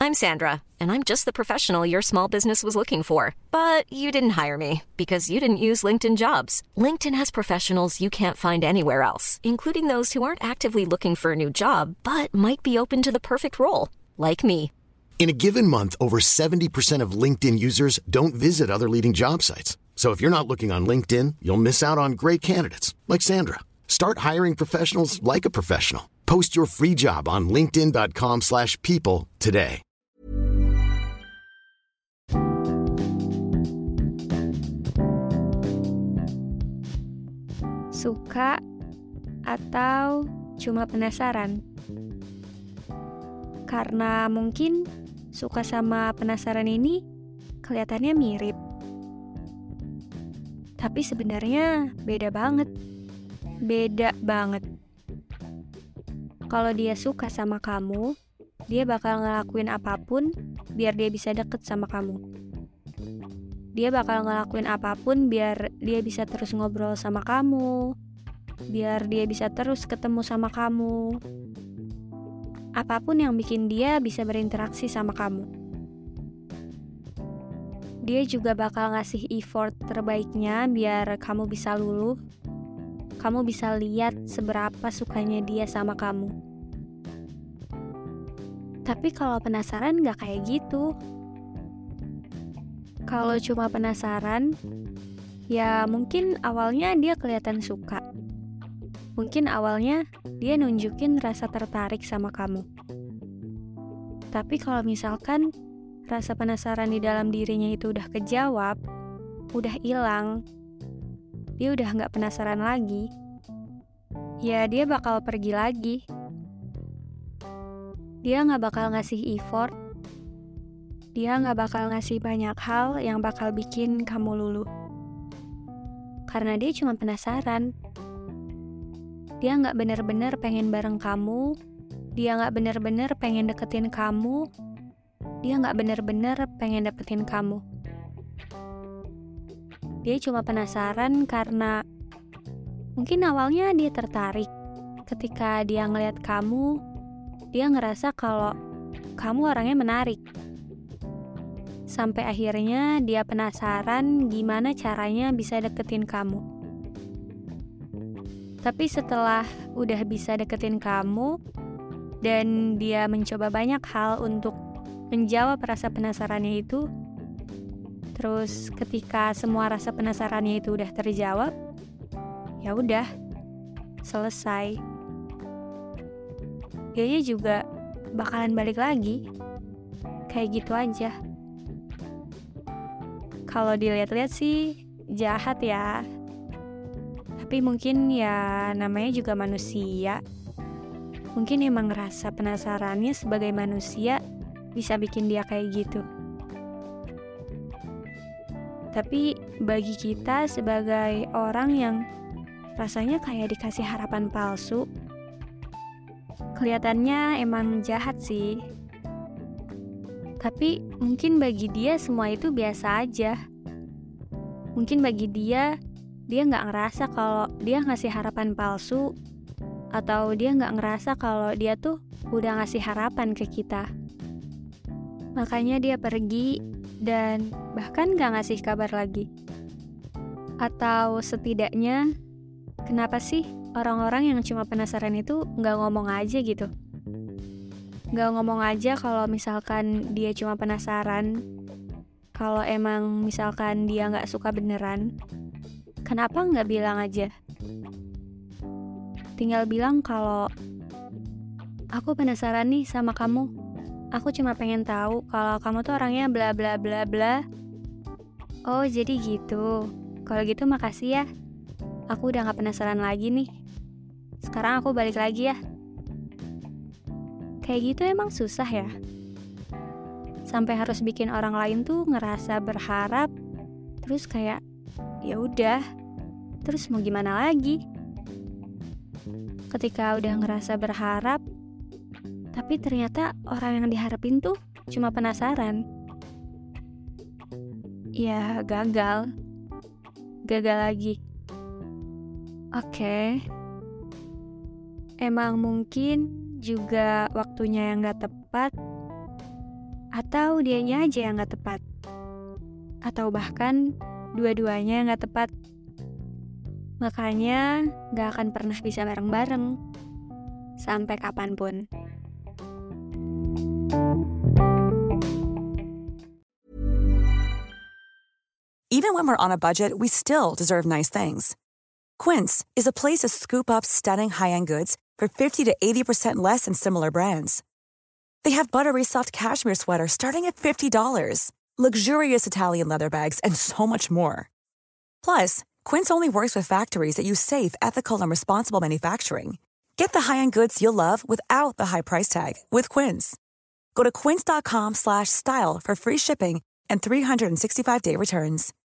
I'm Sandra, and I'm just the professional your small business was looking for. But you didn't hire me because you didn't use LinkedIn Jobs. LinkedIn has professionals you can't find anywhere else, including those who aren't actively looking for a new job, but might be open to the perfect role, like me. In a given month, over 70% of LinkedIn users don't visit other leading job sites. So if you're not looking on LinkedIn, you'll miss out on great candidates like Sandra. Start hiring professionals like a professional. Post your free job on linkedin.com/people today. Suka atau cuma penasaran? Karena mungkin suka sama penasaran ini kelihatannya mirip. Tapi sebenarnya beda banget. Beda banget. Kalau dia suka sama kamu, dia bakal ngelakuin apapun biar dia bisa deket sama kamu. Dia bakal ngelakuin apapun biar dia bisa terus ngobrol sama kamu, biar dia bisa terus ketemu sama kamu. Apapun yang bikin dia bisa berinteraksi sama kamu. Dia juga bakal ngasih effort terbaiknya biar kamu bisa luluh. Kamu bisa lihat seberapa sukanya dia sama kamu. Tapi kalau penasaran gak kayak gitu. Kalau cuma penasaran, ya mungkin awalnya dia kelihatan suka. Mungkin awalnya dia nunjukin rasa tertarik sama kamu. Tapi kalau misalkan rasa penasaran di dalam dirinya itu udah kejawab, udah hilang, dia udah gak penasaran lagi, ya dia bakal pergi lagi. Dia gak bakal ngasih effort. Dia gak bakal ngasih banyak hal yang bakal bikin kamu luluh. Karena dia cuma penasaran. Dia gak bener-bener pengen bareng kamu. Dia gak bener-bener pengen deketin kamu. Dia gak bener-bener pengen dapetin kamu. Dia cuma penasaran karena mungkin awalnya dia tertarik. Ketika dia ngeliat kamu, dia ngerasa kalau kamu orangnya menarik. Sampai akhirnya dia penasaran gimana caranya bisa deketin kamu. Tapi setelah udah bisa deketin kamu, dan dia mencoba banyak hal untuk menjawab rasa penasarannya itu, terus ketika semua rasa penasarannya itu udah terjawab, ya udah, selesai. Dianya juga bakalan balik lagi. Kayak gitu aja. Kalau dilihat-lihat sih jahat ya. Tapi mungkin ya namanya juga manusia. Mungkin emang rasa penasarannya sebagai manusia bisa bikin dia kayak gitu. Tapi bagi kita sebagai orang yang rasanya kayak dikasih harapan palsu, kelihatannya emang jahat sih. Tapi mungkin bagi dia semua itu biasa aja. Mungkin bagi dia gak ngerasa kalau dia ngasih harapan palsu, atau dia gak ngerasa kalau dia tuh udah ngasih harapan ke kita. Makanya dia pergi dan bahkan gak ngasih kabar lagi. Atau setidaknya, kenapa sih orang-orang yang cuma penasaran itu gak ngomong aja gitu? Gak ngomong aja kalau misalkan dia cuma penasaran. Kalau emang misalkan dia gak suka beneran, kenapa gak bilang aja? Tinggal bilang kalau aku penasaran nih sama kamu. Aku cuma pengen tahu kalau kamu tuh orangnya bla bla bla bla. Oh jadi gitu. Kalau gitu makasih ya. Aku udah gak penasaran lagi nih. Sekarang aku balik lagi ya. Kayak gitu emang susah ya. Sampai harus bikin orang lain tuh ngerasa berharap. Terus kayak ya udah. Terus mau gimana lagi? Ketika udah ngerasa berharap, tapi ternyata orang yang diharapin tuh cuma penasaran. Ya gagal. Gagal lagi. Oke. Emang mungkin juga waktunya yang gak tepat. Atau dianya aja yang gak tepat? Atau bahkan dua-duanya gak tepat? Makanya gak akan pernah bisa bareng-bareng sampai kapanpun. Even when we're on a budget, we still deserve nice things. Quince is a place to scoop up stunning high-end goods for 50 to 80% less than similar brands. They have buttery soft cashmere sweaters starting at $50, luxurious Italian leather bags, and so much more. Plus, Quince only works with factories that use safe, ethical, and responsible manufacturing. Get the high-end goods you'll love without the high price tag with Quince. Go to quince.com/style for free shipping and 365-day returns.